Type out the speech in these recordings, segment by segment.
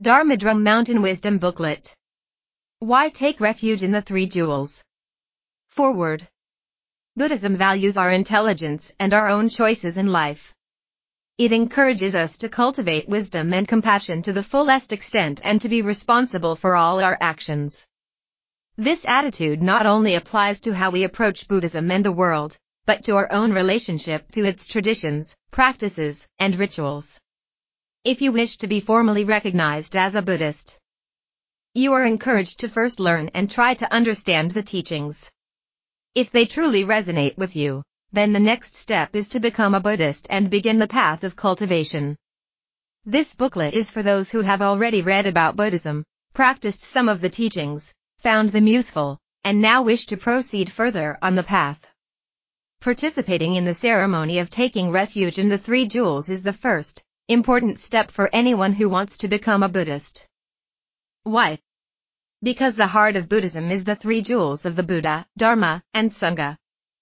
Dharma Drum Mountain Wisdom Booklet. Why take refuge in the Three Jewels? Forward. Buddhism values our intelligence and our own choices in life. It encourages us to cultivate wisdom and compassion to the fullest extent and to be responsible for all our actions. This attitude not only applies to how we approach Buddhism and the world, but to our own relationship to its traditions, practices, and rituals. If you wish to be formally recognized as a Buddhist, you are encouraged to first learn and try to understand the teachings. If they truly resonate with you, then the next step is to become a Buddhist and begin the path of cultivation. This booklet is for those who have already read about Buddhism, practiced some of the teachings, found them useful, and now wish to proceed further on the path. Participating in the ceremony of taking refuge in the Three Jewels is the first important step for anyone who wants to become a Buddhist. Why? Because the heart of Buddhism is the Three Jewels of the Buddha, Dharma, and Sangha.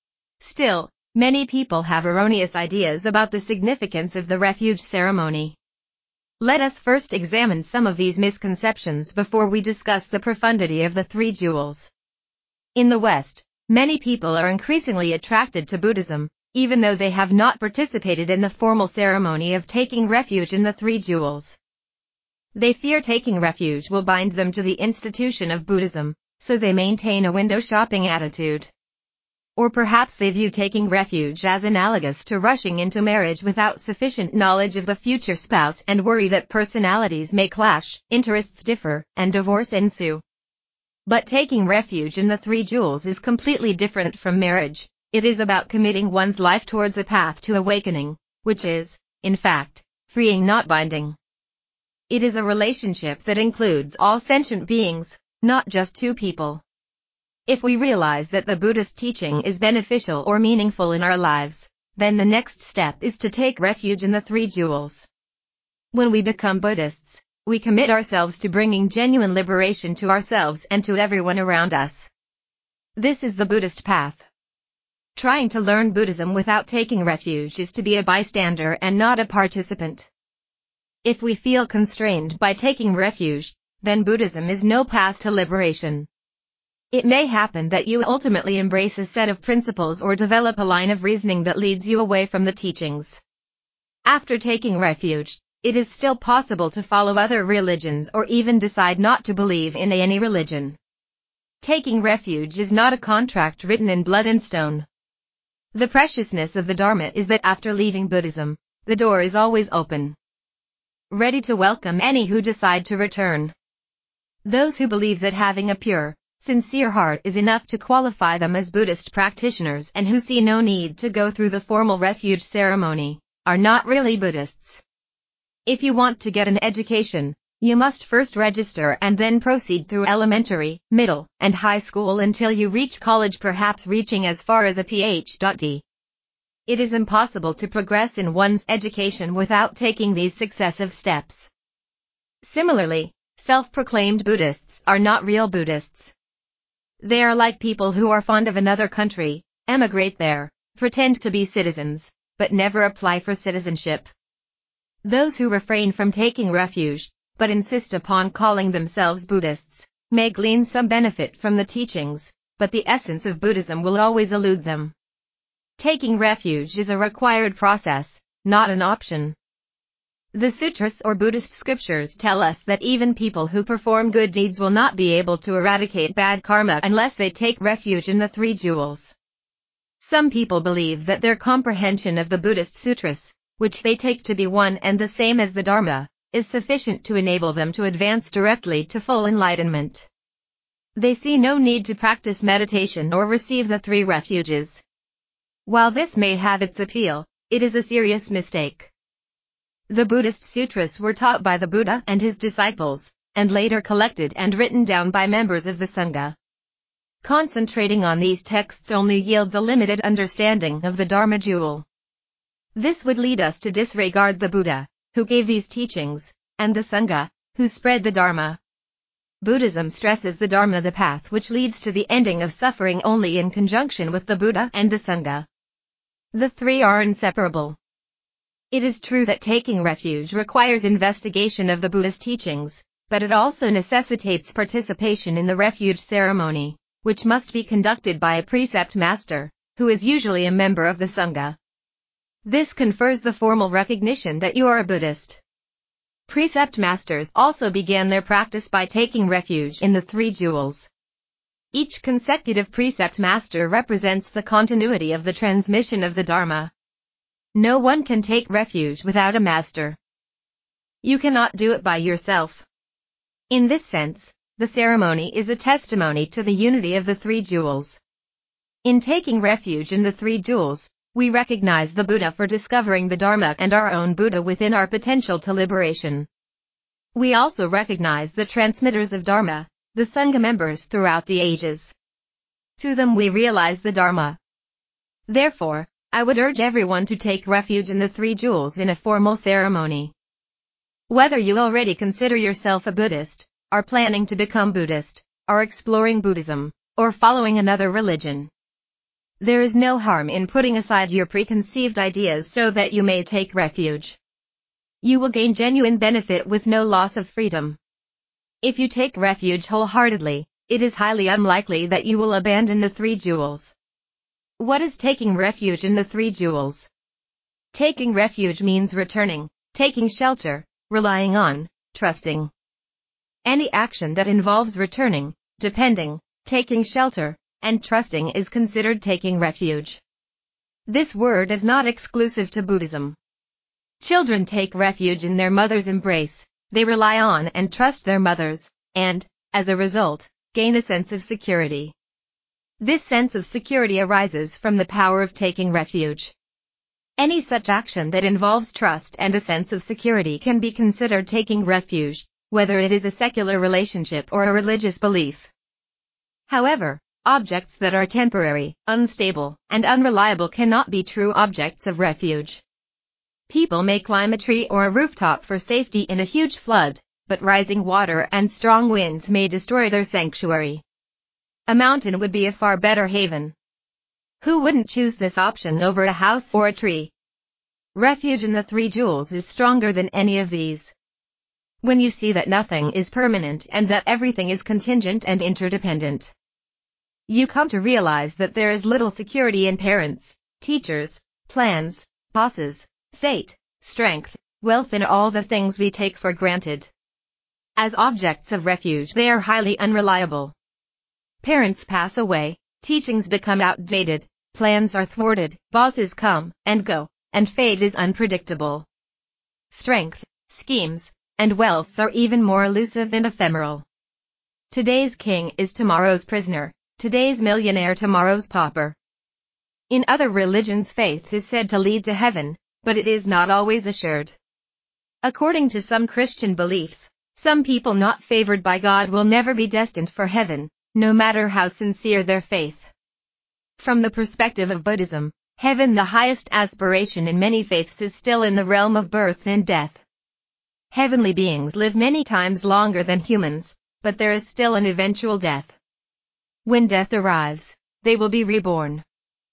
Still, many people have erroneous ideas about the significance of the refuge ceremony. Let us first examine some of these misconceptions before we discuss the profundity of the Three Jewels. In the West, many people are increasingly attracted to Buddhism, even though they have not participated in the formal ceremony of taking refuge in the Three Jewels. They fear taking refuge will bind them to the institution of Buddhism, so they maintain a window shopping attitude. Or perhaps they view taking refuge as analogous to rushing into marriage without sufficient knowledge of the future spouse and worry that personalities may clash, interests differ, and divorce ensue. But taking refuge in the Three Jewels is completely different from marriage. It is about committing one's life towards a path to awakening, which is, in fact, freeing not binding. It is a relationship that includes all sentient beings, not just two people. If we realize that the Buddhist teaching is beneficial or meaningful in our lives, then the next step is to take refuge in the Three Jewels. When we become Buddhists, we commit ourselves to bringing genuine liberation to ourselves and to everyone around us. This is the Buddhist path. Trying to learn Buddhism without taking refuge is to be a bystander and not a participant. If we feel constrained by taking refuge, then Buddhism is no path to liberation. It may happen that you ultimately embrace a set of principles or develop a line of reasoning that leads you away from the teachings. After taking refuge, it is still possible to follow other religions or even decide not to believe in any religion. Taking refuge is not a contract written in blood and stone. The preciousness of the Dharma is that after leaving Buddhism, the door is always open, ready to welcome any who decide to return. Those who believe that having a pure, sincere heart is enough to qualify them as Buddhist practitioners and who see no need to go through the formal refuge ceremony, are not really Buddhists. If you want to get an education, you must first register and then proceed through elementary, middle, and high school until you reach college, perhaps reaching as far as a Ph.D. It is impossible to progress in one's education without taking these successive steps. Similarly, self-proclaimed Buddhists are not real Buddhists. They are like people who are fond of another country, emigrate there, pretend to be citizens, but never apply for citizenship. Those who refrain from taking refuge, but insist upon calling themselves Buddhists, may glean some benefit from the teachings, but the essence of Buddhism will always elude them. Taking refuge is a required process, not an option. The sutras or Buddhist scriptures tell us that even people who perform good deeds will not be able to eradicate bad karma unless they take refuge in the Three Jewels. Some people believe that their comprehension of the Buddhist sutras, which they take to be one and the same as the Dharma, is sufficient to enable them to advance directly to full enlightenment. They see no need to practice meditation or receive the three refuges. While this may have its appeal, it is a serious mistake. The Buddhist sutras were taught by the Buddha and his disciples, and later collected and written down by members of the Sangha. Concentrating on these texts only yields a limited understanding of the Dharma jewel. This would lead us to disregard the Buddha, who gave these teachings, and the Sangha, who spread the Dharma. Buddhism stresses the Dharma, the path which leads to the ending of suffering, only in conjunction with the Buddha and the Sangha. The three are inseparable. It is true that taking refuge requires investigation of the Buddha's teachings, but it also necessitates participation in the refuge ceremony, which must be conducted by a precept master, who is usually a member of the Sangha. This confers the formal recognition that you are a Buddhist. Precept masters also began their practice by taking refuge in the three jewels. Each consecutive precept master represents the continuity of the transmission of the Dharma. No one can take refuge without a master. You cannot do it by yourself. In this sense, the ceremony is a testimony to the unity of the three jewels. In taking refuge in the three jewels, we recognize the Buddha for discovering the Dharma and our own Buddha within our potential to liberation. We also recognize the transmitters of Dharma, the Sangha members throughout the ages. Through them we realize the Dharma. Therefore, I would urge everyone to take refuge in the three jewels in a formal ceremony. Whether you already consider yourself a Buddhist, are planning to become Buddhist, are exploring Buddhism, or following another religion, there is no harm in putting aside your preconceived ideas so that you may take refuge. You will gain genuine benefit with no loss of freedom. If you take refuge wholeheartedly, it is highly unlikely that you will abandon the three jewels. What is taking refuge in the three jewels? Taking refuge means returning, taking shelter, relying on, trusting. Any action that involves returning, depending, taking shelter, and trusting is considered taking refuge. This word is not exclusive to Buddhism. Children take refuge in their mother's embrace, they rely on and trust their mothers, and, as a result, gain a sense of security. This sense of security arises from the power of taking refuge. Any such action that involves trust and a sense of security can be considered taking refuge, whether it is a secular relationship or a religious belief. However, objects that are temporary, unstable, and unreliable cannot be true objects of refuge. People may climb a tree or a rooftop for safety in a huge flood, but rising water and strong winds may destroy their sanctuary. A mountain would be a far better haven. Who wouldn't choose this option over a house or a tree? Refuge in the three jewels is stronger than any of these. When you see that nothing is permanent and that everything is contingent and interdependent, you come to realize that there is little security in parents, teachers, plans, bosses, fate, strength, wealth, and all the things we take for granted. As objects of refuge, they are highly unreliable. Parents pass away, teachings become outdated, plans are thwarted, bosses come and go, and fate is unpredictable. Strength, schemes, and wealth are even more elusive and ephemeral. Today's king is tomorrow's prisoner. Today's millionaire, tomorrow's pauper. In other religions, faith is said to lead to heaven, but it is not always assured. According to some Christian beliefs, some people not favored by God will never be destined for heaven, no matter how sincere their faith. From the perspective of Buddhism, heaven, the highest aspiration in many faiths, is still in the realm of birth and death. Heavenly beings live many times longer than humans, but there is still an eventual death. When death arrives, they will be reborn.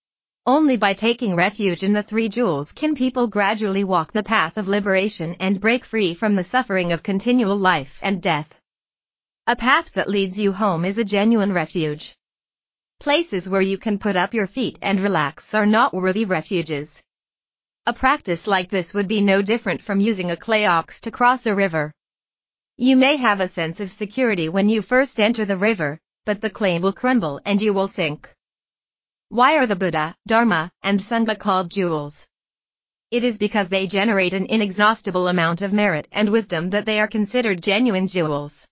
Only by taking refuge in the three jewels can people gradually walk the path of liberation and break free from the suffering of continual life and death. A path that leads you home is a genuine refuge. Places where you can put up your feet and relax are not worthy refuges. A practice like this would be no different from using a clay ox to cross a river. You may have a sense of security when you first enter the river, but the clay will crumble and you will sink. Why are the Buddha, Dharma, and Sangha called jewels? It is because they generate an inexhaustible amount of merit and wisdom that they are considered genuine jewels.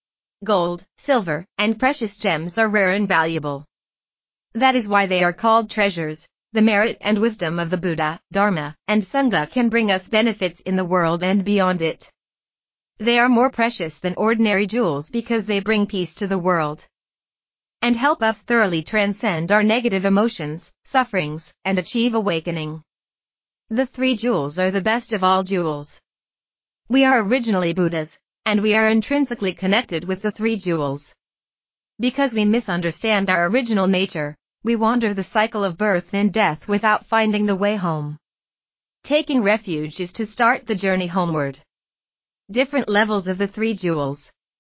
Gold, silver, and precious gems are rare and valuable. That is why they are called treasures. The merit and wisdom of the Buddha, Dharma, and Sangha can bring us benefits in the world and beyond it. They are more precious than ordinary jewels because they bring peace to the world and help us thoroughly transcend our negative emotions, sufferings, and achieve awakening. The three jewels are the best of all jewels. We are originally Buddhas, and we are intrinsically connected with the three jewels. Because we misunderstand our original nature, we wander the cycle of birth and death without finding the way home. Taking refuge is to start the journey homeward. Different levels of the three jewels.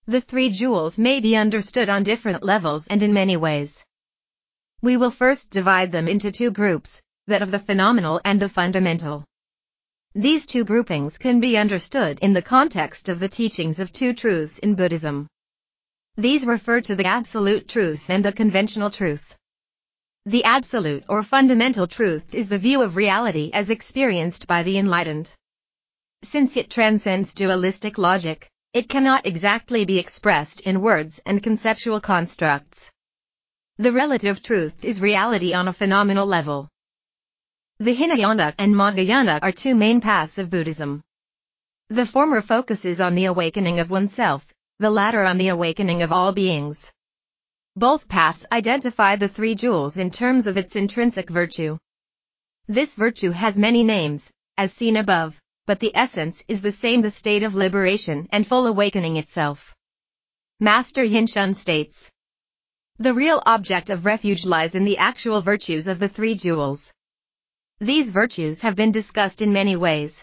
The three jewels may be understood on different levels and in many ways. We will first divide them into two groups, that of the phenomenal and the fundamental. These two groupings can be understood in the context of the teachings of two truths in Buddhism. These refer to the absolute truth and the conventional truth. The absolute or fundamental truth is the view of reality as experienced by the enlightened. Since it transcends dualistic logic, it cannot exactly be expressed in words and conceptual constructs. The relative truth is reality on a phenomenal level. The Hinayana and Mahayana are two main paths of Buddhism. The former focuses on the awakening of oneself, the latter on the awakening of all beings. Both paths identify the three jewels in terms of its intrinsic virtue. This virtue has many names, as seen above, but the essence is the same: the state of liberation and full awakening itself. Master Yin Shun states, the real object of refuge lies in the actual virtues of the three jewels. These virtues have been discussed in many ways.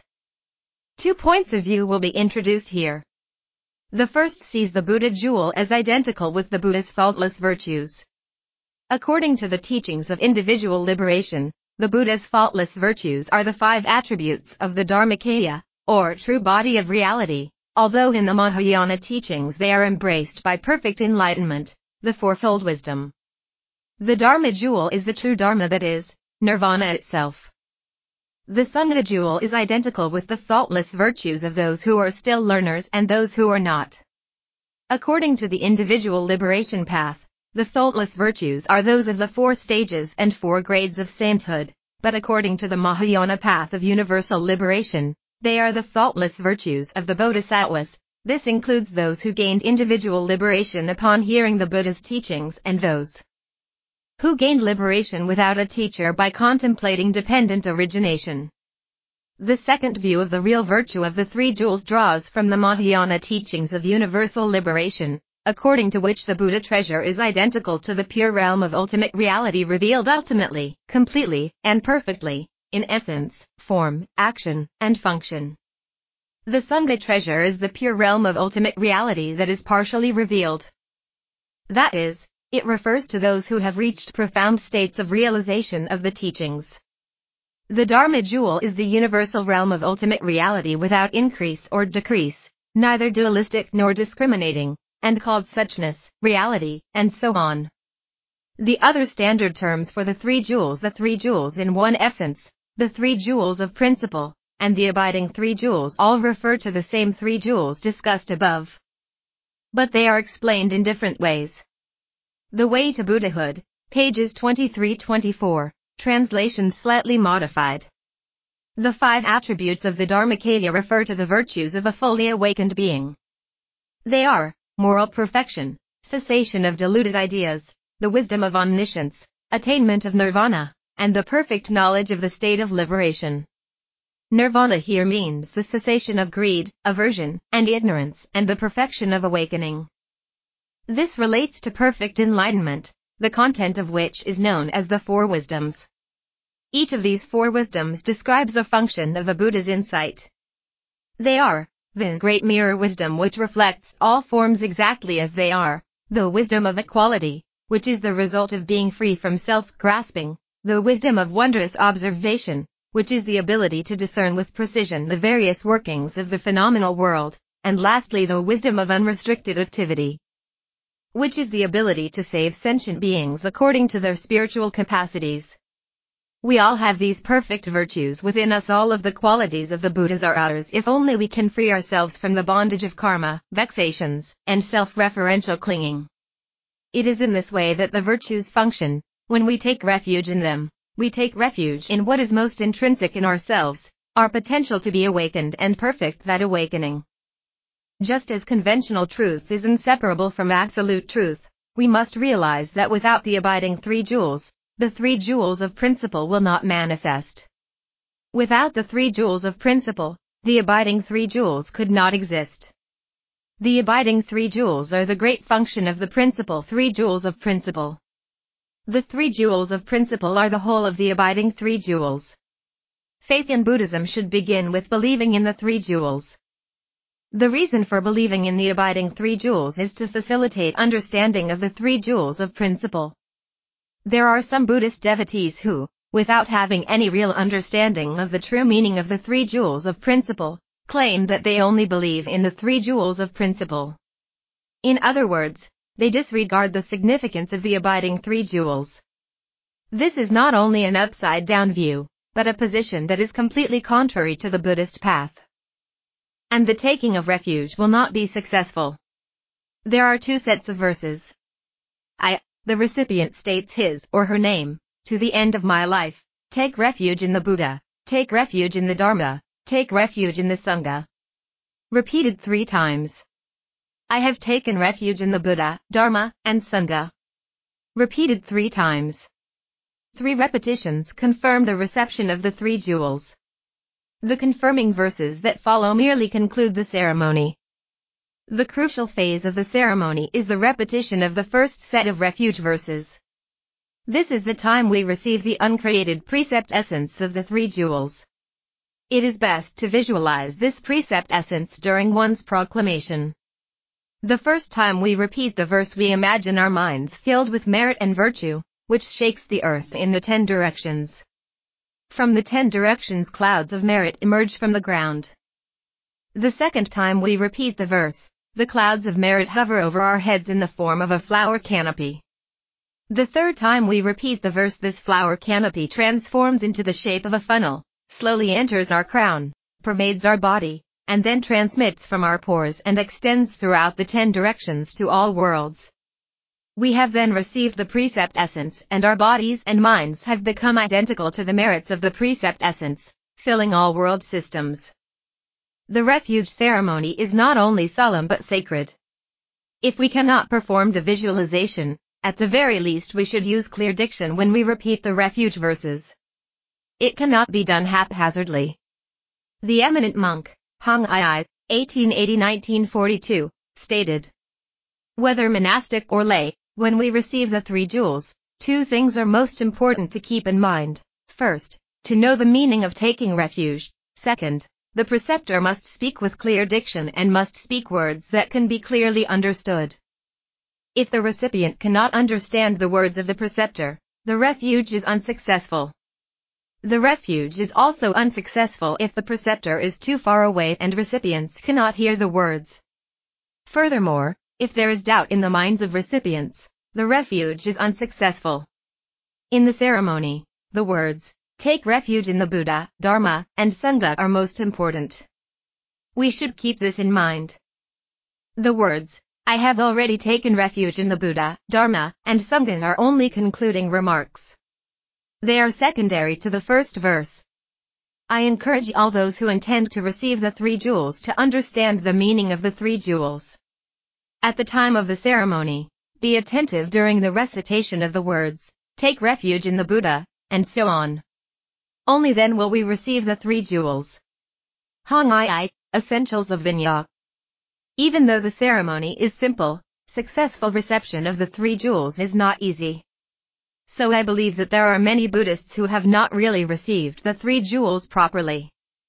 2 points of view will be introduced here. The first sees the Buddha jewel as identical with the Buddha's faultless virtues. According to the teachings of individual liberation, the Buddha's faultless virtues are the 5 attributes of the Dharmakaya, or true body of reality, although in the Mahayana teachings they are embraced by perfect enlightenment, the fourfold wisdom. The Dharma jewel is the true Dharma, that is, Nirvana itself. The Sangha jewel is identical with the faultless virtues of those who are still learners and those who are not. According to the individual liberation path, the faultless virtues are those of the 4 stages and 4 grades of sainthood, but according to the Mahayana path of universal liberation, they are the faultless virtues of the Bodhisattvas. This includes those who gained individual liberation upon hearing the Buddha's teachings and those who gained liberation without a teacher by contemplating dependent origination. The second view of the real virtue of the three jewels draws from the Mahayana teachings of universal liberation, according to which the Buddha treasure is identical to the pure realm of ultimate reality revealed ultimately, completely, and perfectly, in essence, form, action, and function. The Sangha treasure is the pure realm of ultimate reality that is partially revealed. That is, it refers to those who have reached profound states of realization of the teachings. The Dharma jewel is the universal realm of ultimate reality without increase or decrease, neither dualistic nor discriminating, and called suchness, reality, and so on. The other standard terms for the three jewels in one essence, the 3 jewels of principle, and the abiding 3 jewels all refer to the same 3 jewels discussed above. But they are explained in different ways. The Way to Buddhahood, pages 23-24, translation slightly modified. The 5 attributes of the Dharmakaya refer to the virtues of a fully awakened being. They are moral perfection, cessation of deluded ideas, the wisdom of omniscience, attainment of nirvana, and the perfect knowledge of the state of liberation. Nirvana here means the cessation of greed, aversion, and ignorance, and the perfection of awakening. This relates to perfect enlightenment, the content of which is known as the 4 wisdoms. Each of these 4 wisdoms describes a function of a Buddha's insight. They are the Great Mirror Wisdom, which reflects all forms exactly as they are, the Wisdom of Equality, which is the result of being free from self-grasping, the Wisdom of Wondrous Observation, which is the ability to discern with precision the various workings of the phenomenal world, and lastly the Wisdom of Unrestricted Activity, which is the ability to save sentient beings according to their spiritual capacities. We all have these perfect virtues within us. All of the qualities of the Buddhas are ours if only we can free ourselves from the bondage of karma, vexations, and self-referential clinging. It is in this way that the virtues function. When we take refuge in them, we take refuge in what is most intrinsic in ourselves, our potential to be awakened and perfect that awakening. Just as conventional truth is inseparable from absolute truth, we must realize that without the abiding 3 jewels, the 3 jewels of principle will not manifest. Without the 3 jewels of principle, the abiding 3 jewels could not exist. The abiding 3 jewels are the great function of the principle 3 jewels of principle. The 3 jewels of principle are the whole of the abiding 3 jewels. Faith in Buddhism should begin with believing in the 3 jewels. The reason for believing in the abiding three jewels is to facilitate understanding of the three jewels of principle. There are some Buddhist devotees who, without having any real understanding of the true meaning of the three jewels of principle, claim that they only believe in the three jewels of principle. In other words, they disregard the significance of the abiding three jewels. This is not only an upside-down view, but a position that is completely contrary to the Buddhist path. And the taking of refuge will not be successful. There are two sets of verses. The recipient states his or her name, to the end of my life, take refuge in the Buddha, take refuge in the Dharma, take refuge in the Sangha. Repeated 3 times. I have taken refuge in the Buddha, Dharma, and Sangha. Repeated 3 times. 3 repetitions confirm the reception of the three jewels. The confirming verses that follow merely conclude the ceremony. The crucial phase of the ceremony is the repetition of the first set of refuge verses. This is the time we receive the uncreated precept essence of the three jewels. It is best to visualize this precept essence during one's proclamation. The first time we repeat the verse, we imagine our minds filled with merit and virtue, which shakes the earth in the 10 directions. From the 10 directions, clouds of merit emerge from the ground. The second time we repeat the verse, the clouds of merit hover over our heads in the form of a flower canopy. The third time we repeat the verse, this flower canopy transforms into the shape of a funnel, slowly enters our crown, pervades our body, and then transmits from our pores and extends throughout the 10 directions to all worlds. We have then received the precept essence, and our bodies and minds have become identical to the merits of the precept essence, filling all world systems. The refuge ceremony is not only solemn but sacred. If we cannot perform the visualization, at the very least we should use clear diction when we repeat the refuge verses. It cannot be done haphazardly. The eminent monk, Hong Ai, 1880-1942, stated, whether monastic or lay, when we receive the three jewels, 2 things are most important to keep in mind. First, to know the meaning of taking refuge. Second, the preceptor must speak with clear diction and must speak words that can be clearly understood. If the recipient cannot understand the words of the preceptor, the refuge is unsuccessful. The refuge is also unsuccessful if the preceptor is too far away and recipients cannot hear the words. Furthermore, if there is doubt in the minds of recipients, the refuge is unsuccessful. In the ceremony, the words, take refuge in the Buddha, Dharma, and Sangha are most important. We should keep this in mind. The words, I have already taken refuge in the Buddha, Dharma, and Sangha are only concluding remarks. They are secondary to the first verse. I encourage all those who intend to receive the three jewels to understand the meaning of the three jewels. At the time of the ceremony, be attentive during the recitation of the words, take refuge in the Buddha, and so on. Only then will we receive the three jewels. Hong Ai, Essentials of Vinaya. Even though the ceremony is simple, successful reception of the three jewels is not easy. So I believe that there are many Buddhists who have not really received the three jewels properly.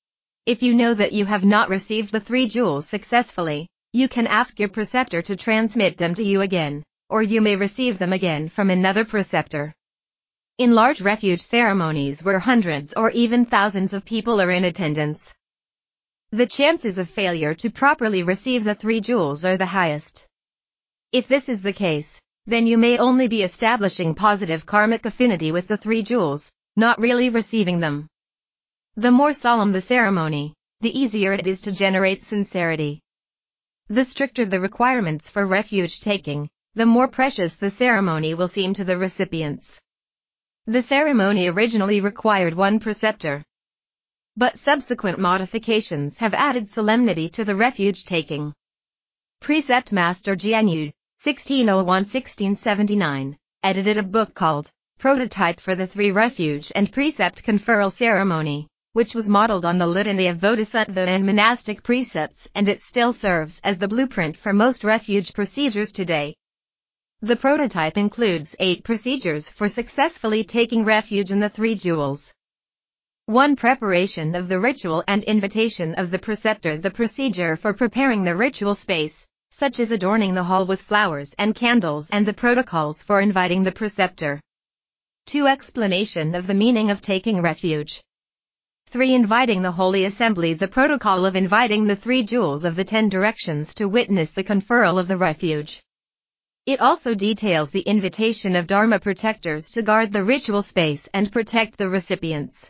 If you know that you have not received the three jewels successfully, you can ask your preceptor to transmit them to you again, or you may receive them again from another preceptor. In large refuge ceremonies where hundreds or even thousands of people are in attendance, the chances of failure to properly receive the three jewels are the highest. If this is the case, then you may only be establishing positive karmic affinity with the three jewels, not really receiving them. The more solemn the ceremony, the easier it is to generate sincerity. The stricter the requirements for refuge taking, the more precious the ceremony will seem to the recipients. The ceremony originally required 1 preceptor, but subsequent modifications have added solemnity to the refuge taking. Precept Master Jianyu, 1601-1679, edited a book called Prototype for the Three Refuge and Precept Conferral Ceremony, which was modeled on the litany of bodhisattva and monastic precepts, and it still serves as the blueprint for most refuge procedures today. The prototype includes 8 procedures for successfully taking refuge in the three jewels. 1. Preparation of the ritual and invitation of the preceptor. The procedure for preparing the ritual space, such as adorning the hall with flowers and candles, and the protocols for inviting the preceptor. 2. Explanation of the meaning of taking refuge. 3. Inviting the Holy Assembly. The protocol of inviting the 3 jewels of the 10 directions to witness the conferral of the refuge. It also details the invitation of Dharma protectors to guard the ritual space and protect the recipients.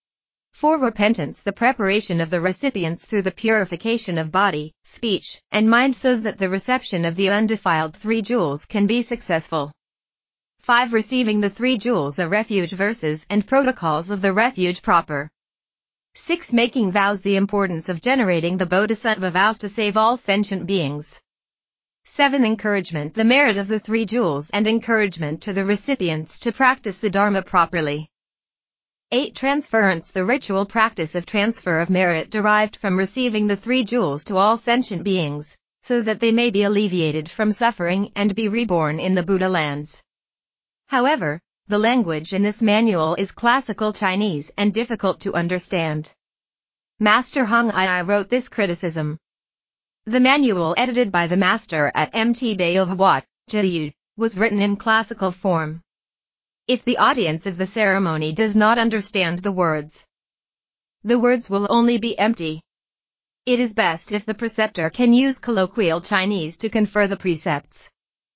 4. Repentance. The preparation of the recipients through the purification of body, speech, and mind so that the reception of the undefiled 3 jewels can be successful. 5. Receiving the 3 jewels. The refuge verses and protocols of the refuge proper. 6. Making vows. The importance of generating the Bodhisattva vows to save all sentient beings. 7. Encouragement. The merit of the 3 jewels and encouragement to the recipients to practice the Dharma properly. 8. Transference. The ritual practice of transfer of merit derived from receiving the 3 jewels to all sentient beings, so that they may be alleviated from suffering and be reborn in the Buddha lands. However, the language in this manual is classical Chinese and difficult to understand. Master Hong Ai wrote this criticism. The manual edited by the master at Mt. Bayo Wat, Jiyu, was written in classical form. If the audience of the ceremony does not understand the words will only be empty. It is best if the preceptor can use colloquial Chinese to confer the precepts.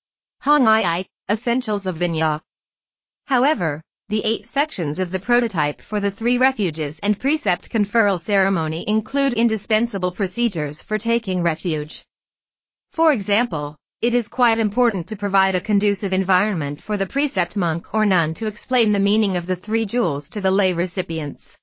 Hong Ai, Essentials of Vinaya. However, the 8 sections of the prototype for the 3 refuges and precept conferral ceremony include indispensable procedures for taking refuge. For example, it is quite important to provide a conducive environment for the precept monk or nun to explain the meaning of the 3 jewels to the lay recipients.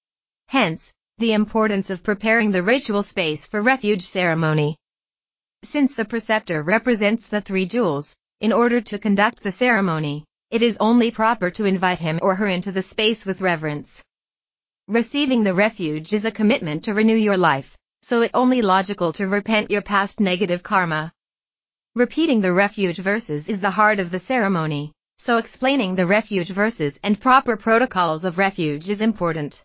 Hence, the importance of preparing the ritual space for refuge ceremony. Since the preceptor represents the 3 jewels, in order to conduct the ceremony, it is only proper to invite him or her into the space with reverence. Receiving the refuge is a commitment to renew your life, so it only logical to repent your past negative karma. Repeating the refuge verses is the heart of the ceremony, so explaining the refuge verses and proper protocols of refuge is important.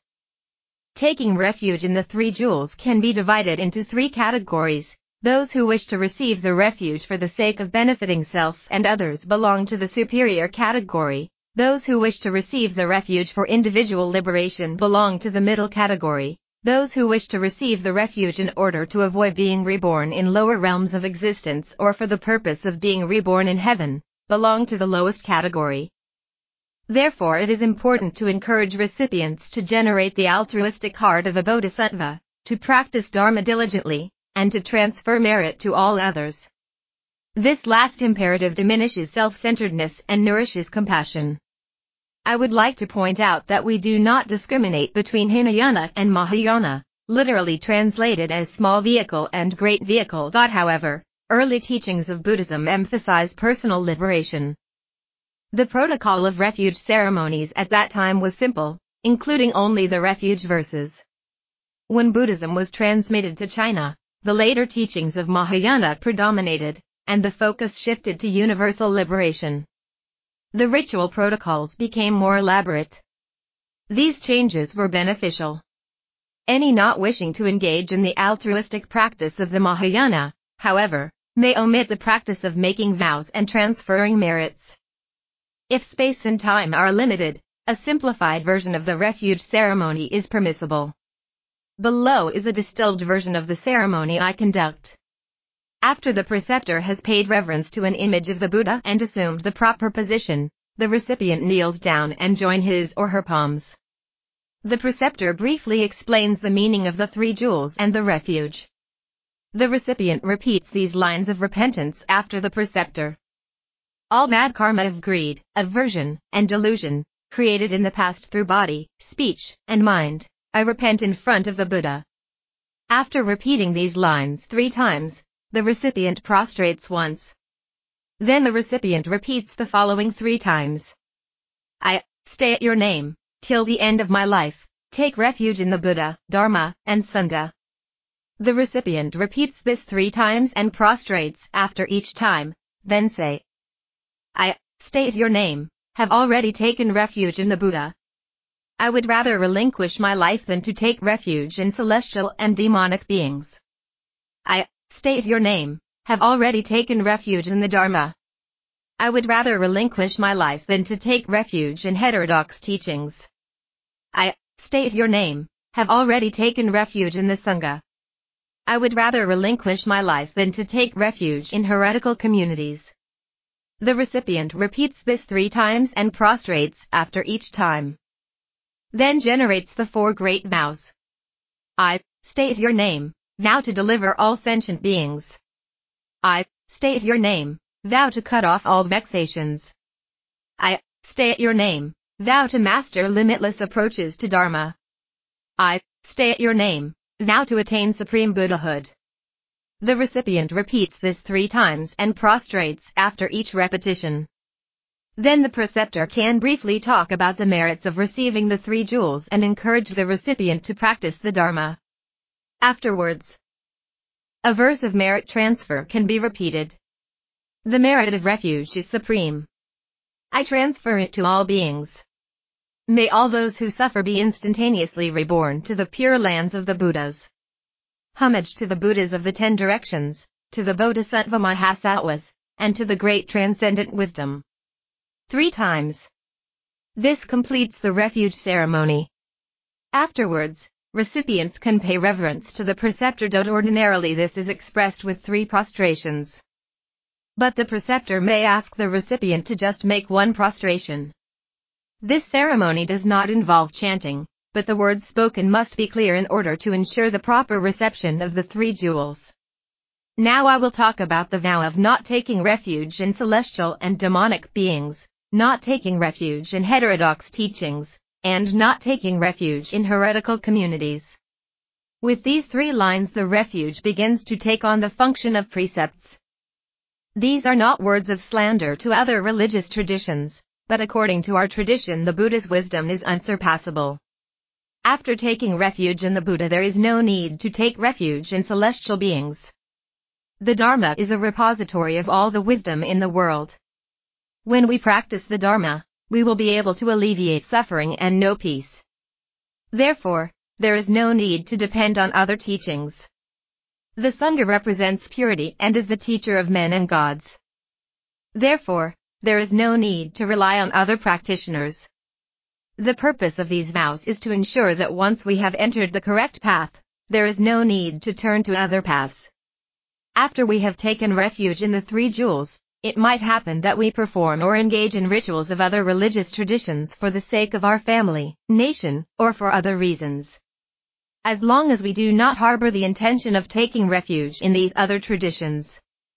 Taking refuge in the 3 jewels can be divided into 3 categories. Those who wish to receive the refuge for the sake of benefiting self and others belong to the superior category. Those who wish to receive the refuge for individual liberation belong to the middle category. Those who wish to receive the refuge in order to avoid being reborn in lower realms of existence or for the purpose of being reborn in heaven, belong to the lowest category. Therefore it is important to encourage recipients to generate the altruistic heart of a bodhisattva, to practice Dharma diligently, and to transfer merit to all others. This last imperative diminishes self-centeredness and nourishes compassion. I would like to point out that we do not discriminate between Hinayana and Mahayana, literally translated as small vehicle and great vehicle. However, early teachings of Buddhism emphasize personal liberation. The protocol of refuge ceremonies at that time was simple, including only the refuge verses. When Buddhism was transmitted to China, the later teachings of Mahayana predominated, and the focus shifted to universal liberation. The ritual protocols became more elaborate. These changes were beneficial. Any not wishing to engage in the altruistic practice of the Mahayana, however, may omit the practice of making vows and transferring merits. If space and time are limited, a simplified version of the refuge ceremony is permissible. Below is a distilled version of the ceremony I conduct. After the preceptor has paid reverence to an image of the Buddha and assumed the proper position, the recipient kneels down and joins his or her palms. The preceptor briefly explains the meaning of the 3 jewels and the refuge. The recipient repeats these lines of repentance after the preceptor. All bad karma of greed, aversion, and delusion, created in the past through body, speech, and mind, I repent in front of the Buddha. After repeating these lines 3 times, the recipient prostrates once. Then the recipient repeats the following 3 times. I stay at your name, till the end of my life, take refuge in the Buddha, Dharma, and Sangha. The recipient repeats this 3 times and prostrates after each time, then say, I state your name, have already taken refuge in the Buddha. I would rather relinquish my life than to take refuge in celestial and demonic beings. I, state your name, have already taken refuge in the Dharma. I would rather relinquish my life than to take refuge in heterodox teachings. I, state your name, have already taken refuge in the Sangha. I would rather relinquish my life than to take refuge in heretical communities. The recipient repeats this 3 times and prostrates after each time. Then generates the 4 great vows. I, state your name, vow to deliver all sentient beings. I, state your name, vow to cut off all vexations. I, state your name, vow to master limitless approaches to Dharma. I, state your name, vow to attain supreme Buddhahood. The recipient repeats this 3 times and prostrates after each repetition. Then the preceptor can briefly talk about the merits of receiving the 3 jewels and encourage the recipient to practice the Dharma. Afterwards, a verse of merit transfer can be repeated. The merit of refuge is supreme. I transfer it to all beings. May all those who suffer be instantaneously reborn to the pure lands of the Buddhas. Homage to the Buddhas of the 10 directions, to the Bodhisattva Mahasattvas, and to the great transcendent wisdom. 3 times. This completes the refuge ceremony. Afterwards, recipients can pay reverence to the preceptor. Ordinarily this is expressed with 3 prostrations. But the preceptor may ask the recipient to just make 1 prostration. This ceremony does not involve chanting, but the words spoken must be clear in order to ensure the proper reception of the 3 jewels. Now I will talk about the vow of not taking refuge in celestial and demonic beings, not taking refuge in heterodox teachings, and not taking refuge in heretical communities. With these 3 lines the refuge begins to take on the function of precepts. These are not words of slander to other religious traditions, but according to our tradition the Buddha's wisdom is unsurpassable. After taking refuge in the Buddha there is no need to take refuge in celestial beings. The Dharma is a repository of all the wisdom in the world. When we practice the Dharma, we will be able to alleviate suffering and know peace. Therefore, there is no need to depend on other teachings. The Sangha represents purity and is the teacher of men and gods. Therefore, there is no need to rely on other practitioners. The purpose of these vows is to ensure that once we have entered the correct path, there is no need to turn to other paths. After we have taken refuge in the 3 jewels, it might happen that we perform or engage in rituals of other religious traditions for the sake of our family, nation, or for other reasons. As long as we do not harbor the intention of taking refuge in these other traditions,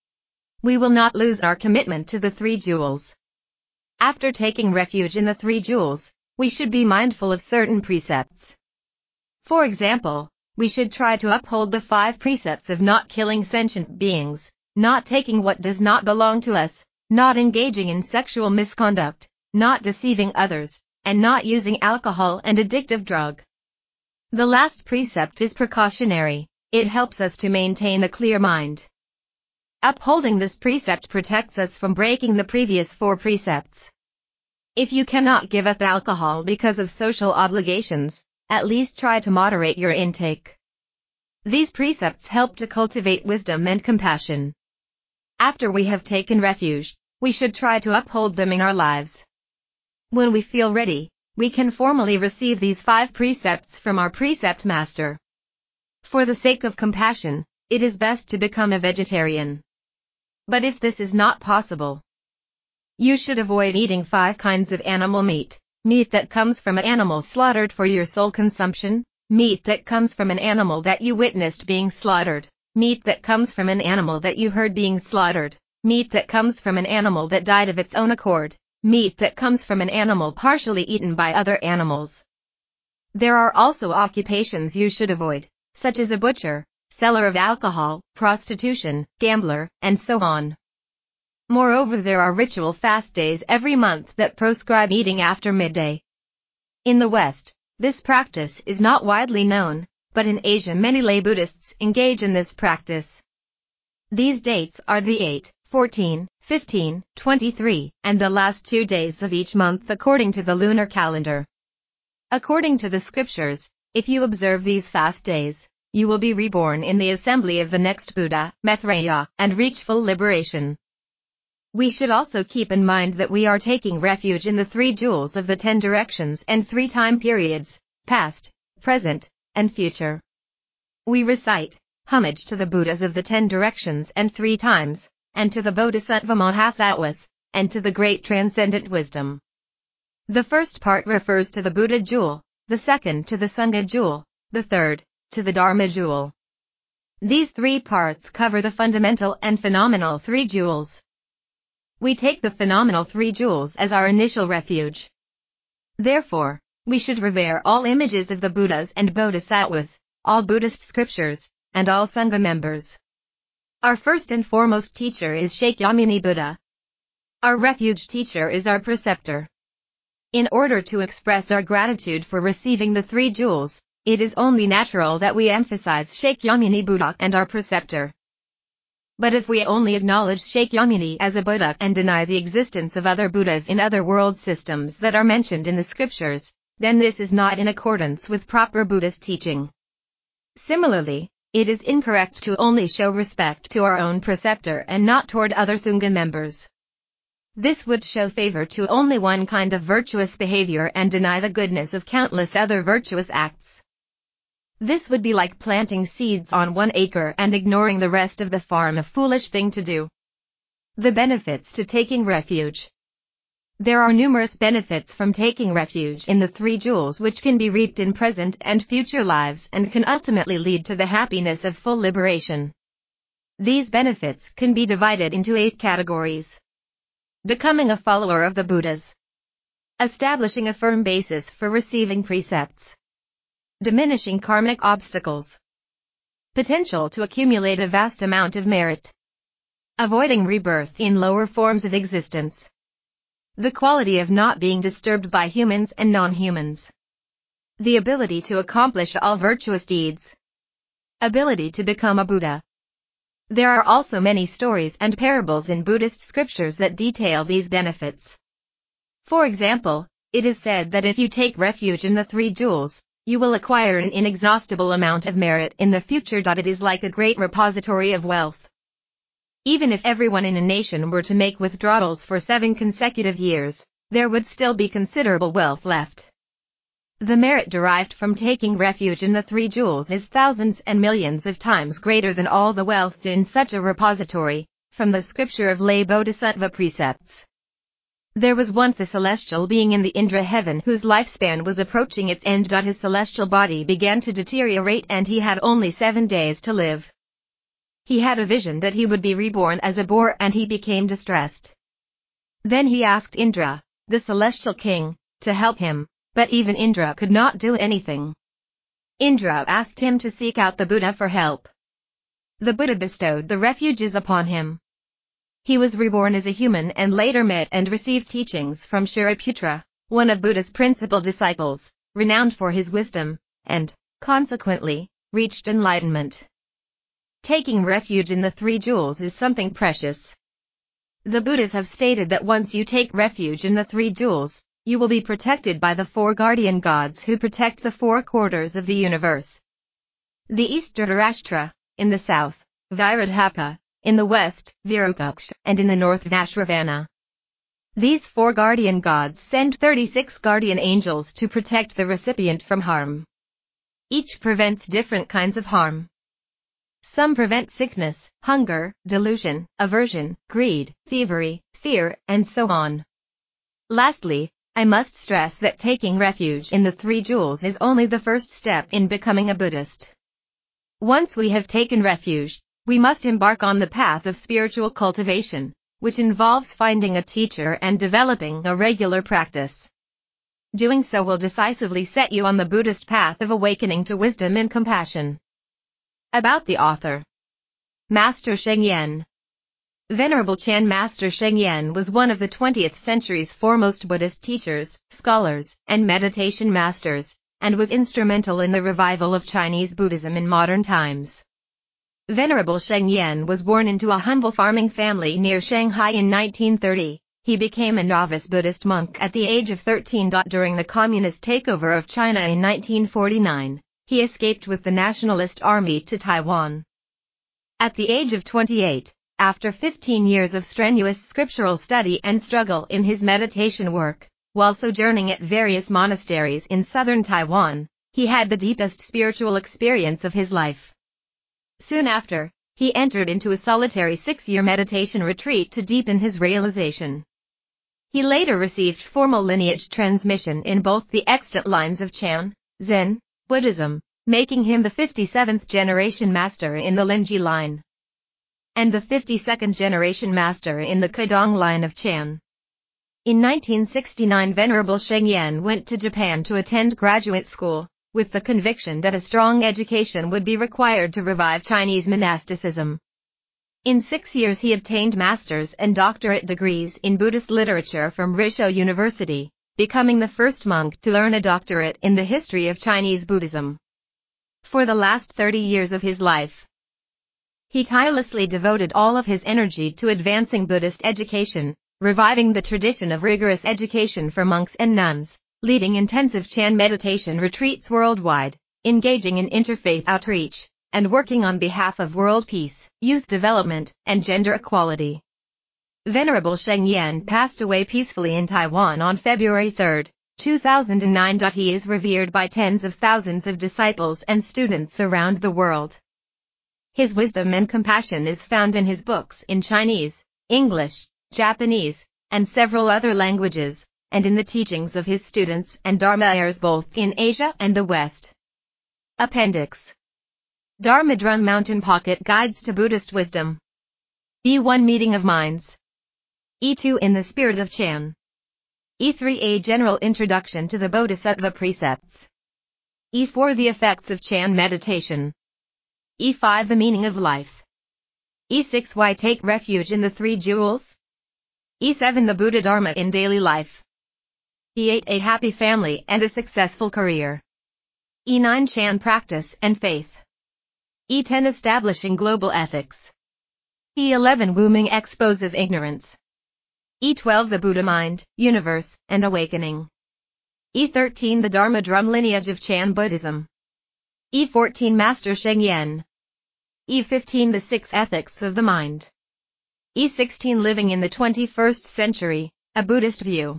we will not lose our commitment to the 3 jewels. After taking refuge in the 3 jewels, we should be mindful of certain precepts. For example, we should try to uphold the 5 precepts of not killing sentient beings, not taking what does not belong to us, not engaging in sexual misconduct, not deceiving others, and not using alcohol and addictive drug. The last precept is precautionary. It helps us to maintain a clear mind. Upholding this precept protects us from breaking the previous 4 precepts. If you cannot give up alcohol because of social obligations, at least try to moderate your intake. These precepts help to cultivate wisdom and compassion. After we have taken refuge, we should try to uphold them in our lives. When we feel ready, we can formally receive these 5 precepts from our precept master. For the sake of compassion, it is best to become a vegetarian. But if this is not possible, you should avoid eating 5 kinds of animal meat: meat that comes from an animal slaughtered for your sole consumption, meat that comes from an animal that you witnessed being slaughtered, meat that comes from an animal that you heard being slaughtered, meat that comes from an animal that died of its own accord, meat that comes from an animal partially eaten by other animals. There are also occupations you should avoid, such as a butcher, seller of alcohol, prostitution, gambler, and so on. Moreover, there are ritual fast days every month that proscribe eating after midday. In the West, this practice is not widely known, but in Asia many lay Buddhists engage in this practice. These dates are the 8, 14, 15, 23, and the last 2 days of each month according to the lunar calendar. According to the scriptures, if you observe these fast days, you will be reborn in the assembly of the next Buddha, Maitreya, and reach full liberation. We should also keep in mind that we are taking refuge in the 3 jewels of the 10 directions and 3 time periods, past, present, and future. We recite homage to the Buddhas of the 10 directions and 3 times, and to the Bodhisattva Mahasattvas, and to the great transcendent wisdom. The first part refers to the Buddha jewel, the second to the Sangha jewel, the third to the Dharma jewel. These 3 parts cover the fundamental and phenomenal 3 jewels. We take the phenomenal 3 jewels as our initial refuge. Therefore, we should revere all images of the Buddhas and Bodhisattvas, all Buddhist scriptures, and all Sangha members. Our first and foremost teacher is Shakyamuni Buddha. Our refuge teacher is our preceptor. In order to express our gratitude for receiving the 3 jewels, it is only natural that we emphasize Shakyamuni Buddha and our preceptor. But if we only acknowledge Shakyamuni as a Buddha and deny the existence of other Buddhas in other world systems that are mentioned in the scriptures, then this is not in accordance with proper Buddhist teaching. Similarly, it is incorrect to only show respect to our own preceptor and not toward other Sangha members. This would show favor to only one kind of virtuous behavior and deny the goodness of countless other virtuous acts. This would be like planting seeds on 1 acre and ignoring the rest of the farm, a foolish thing to do. The benefits to taking refuge. There are numerous benefits from taking refuge in the 3 jewels which can be reaped in present and future lives and can ultimately lead to the happiness of full liberation. These benefits can be divided into 8 categories. Becoming a follower of the Buddhas. Establishing a firm basis for receiving precepts. Diminishing karmic obstacles. Potential to accumulate a vast amount of merit. Avoiding rebirth in lower forms of existence. The quality of not being disturbed by humans and non-humans. The ability to accomplish all virtuous deeds. Ability to become a Buddha. There are also many stories and parables in Buddhist scriptures that detail these benefits. For example, it is said that if you take refuge in the 3 jewels, you will acquire an inexhaustible amount of merit in the future. It is like a great repository of wealth. Even if everyone in a nation were to make withdrawals for 7 consecutive years, there would still be considerable wealth left. The merit derived from taking refuge in the 3 jewels is thousands and millions of times greater than all the wealth in such a repository, from the scripture of lay Bodhisattva precepts. There was once a celestial being in the Indra heaven whose lifespan was approaching its end. His celestial body began to deteriorate and he had only 7 days to live. He had a vision that he would be reborn as a boar and he became distressed. Then he asked Indra, the celestial king, to help him. But even Indra could not do anything. Indra asked him to seek out the Buddha for help. The Buddha bestowed the refuges upon him. He was reborn as a human and later met and received teachings from Shariputra, one of Buddha's principal disciples, renowned for his wisdom, and, consequently, reached enlightenment. Taking refuge in the 3 jewels is something precious. The Buddhas have stated that once you take refuge in the 3 jewels, you will be protected by the 4 guardian gods who protect the 4 quarters of the universe. The east Dhritarashtra, in the south, Viradhapa, in the west, Virupaksha, and in the north Vashravana. These 4 guardian gods send 36 guardian angels to protect the recipient from harm. Each prevents different kinds of harm. Some prevent sickness, hunger, delusion, aversion, greed, thievery, fear, and so on. Lastly, I must stress that taking refuge in the 3 jewels is only the first step in becoming a Buddhist. Once we have taken refuge, we must embark on the path of spiritual cultivation, which involves finding a teacher and developing a regular practice. Doing so will decisively set you on the Buddhist path of awakening to wisdom and compassion. About the author. Master Sheng Yen. Venerable Chan Master Sheng Yen was one of the 20th century's foremost Buddhist teachers, scholars, and meditation masters, and was instrumental in the revival of Chinese Buddhism in modern times. Venerable Sheng Yen was born into a humble farming family near Shanghai in 1930, He became a novice Buddhist monk at the age of 13. During the communist takeover of China in 1949, he escaped with the Nationalist Army to Taiwan. At the age of 28, after 15 years of strenuous scriptural study and struggle in his meditation work, while sojourning at various monasteries in southern Taiwan, he had the deepest spiritual experience of his life. Soon after, he entered into a solitary 6-year meditation retreat to deepen his realization. He later received formal lineage transmission in both the extant lines of Chan, Zen, Buddhism, making him the 57th generation master in the Linji line, and the 52nd generation master in the Kedong line of Chan. In 1969, Venerable Sheng Yen went to Japan to attend graduate school, with the conviction that a strong education would be required to revive Chinese monasticism. In 6 years he obtained master's and doctorate degrees in Buddhist literature from Risho University, becoming the first monk to earn a doctorate in the history of Chinese Buddhism. For the last 30 years of his life, he tirelessly devoted all of his energy to advancing Buddhist education, reviving the tradition of rigorous education for monks and nuns, leading intensive Chan meditation retreats worldwide, engaging in interfaith outreach, and working on behalf of world peace, youth development, and gender equality. Venerable Sheng Yen passed away peacefully in Taiwan on February 3, 2009. He is revered by tens of thousands of disciples and students around the world. His wisdom and compassion is found in his books in Chinese, English, Japanese, and several other languages, and in the teachings of his students and Dharma heirs both in Asia and the West. Appendix: Dharma Drum Mountain Pocket Guides to Buddhist Wisdom. E1 Meeting of Minds. E2 In the Spirit of Chan. E3 A General Introduction to the Bodhisattva Precepts. E4 The Effects of Chan Meditation. E5 The Meaning of Life. E6 Why Take Refuge in the Three Jewels. E7 The Buddha Dharma in Daily Life. E8 A Happy Family and a Successful Career. E9 Chan Practice and Faith. E10 Establishing Global Ethics. E11 Wu Ming Exposes Ignorance. E12 The Buddha Mind, Universe, and Awakening. E13 The Dharma Drum Lineage of Chan Buddhism. E14 Master Sheng Yen. E15 The 6 Ethics of the Mind. E16 Living in the 21st Century, a Buddhist View.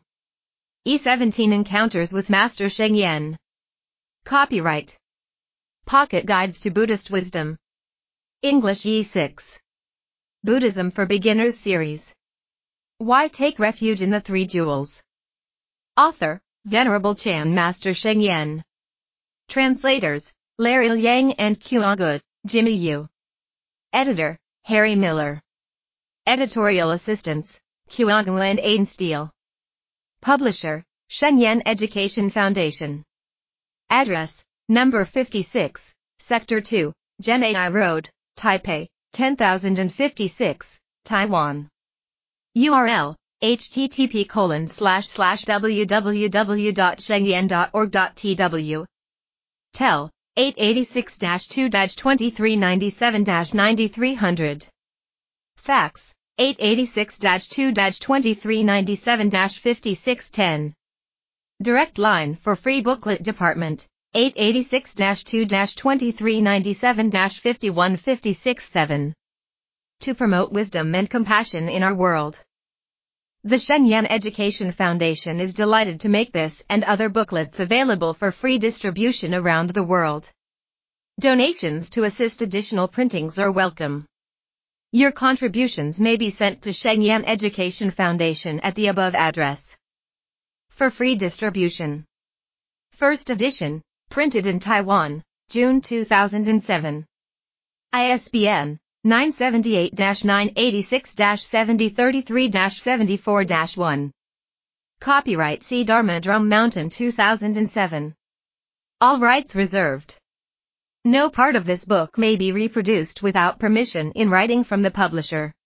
E17 Encounters with Master Sheng Yen. Copyright Pocket Guides to Buddhist Wisdom. English E6. Buddhism for Beginners Series. Why Take Refuge in the Three Jewels. Author, Venerable Chan Master Sheng Yen. Translators, Larry Liang and Kuang Jimmy Yu. Editor, Harry Miller. Editorial Assistants, Kuang and Aiden Steele. Publisher, Sheng Yen Education Foundation. Address, Number 56, Sector 2, Genai Road, Taipei, 10056, Taiwan. URL, http://www.shengyen.org.tw. Tel, 886-2-2397-9300. Fax, 886-2-2397-5610. Direct line for Free Booklet Department, 886-2-2397-51567. To promote wisdom and compassion in our world. The Sheng Yen Education Foundation is delighted to make this and other booklets available for free distribution around the world. Donations to assist additional printings are welcome. Your contributions may be sent to Sheng Yen Education Foundation at the above address. For free distribution. First edition, printed in Taiwan, June 2007. ISBN 978-986-7033-74-1. Copyright C. Dharma Drum Mountain 2007. All rights reserved. No part of this book may be reproduced without permission in writing from the publisher.